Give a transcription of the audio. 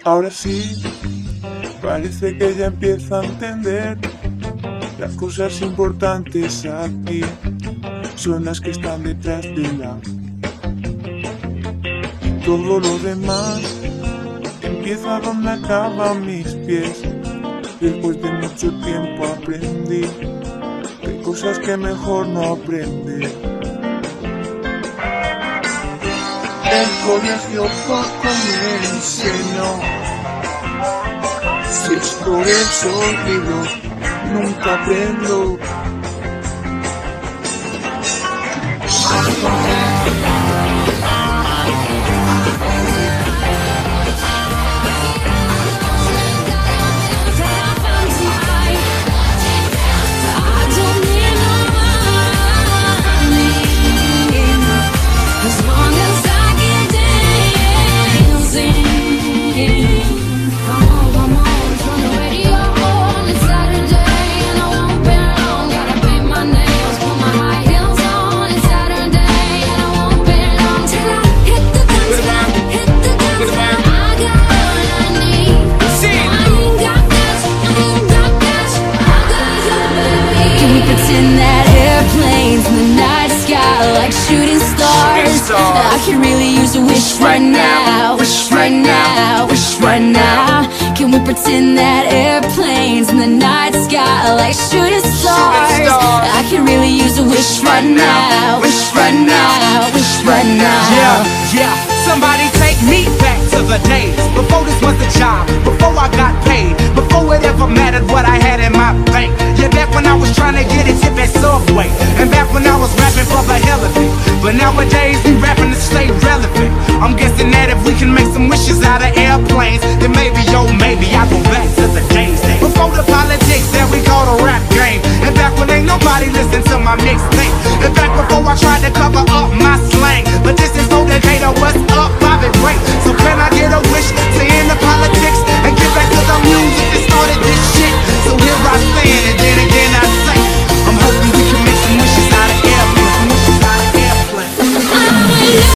Ahora sí, parece que ya empieza a entender. Las cosas importantes aquí son las que están detrás de la. Y todo lo demás empieza donde acaban mis pies. Después de mucho tiempo aprendí que hay cosas que mejor no aprender. El colegio poco me enseñó. Si es por esos libros, nunca aprendo. Shooting stars. I can really use a wish right now. Wish right now. Wish right now. Can we pretend that airplanes in the night sky are like shooting stars? I can really use a wish right now. Wish right now. Wish right now. Yeah. Somebody take me back to the days before this was a job, before I got paid, before it ever mattered what I had in my bank. Yeah, back when I was trying to get a tip at Subway, and back when I was rapping for the hell of it. But nowadays we rapping to stay relevant. I'm guessing that if we can make some wishes out of airplanes, then maybe